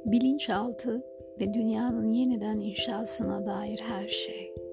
Bilinçaltı ve dünyanın yeniden inşasına dair her şey.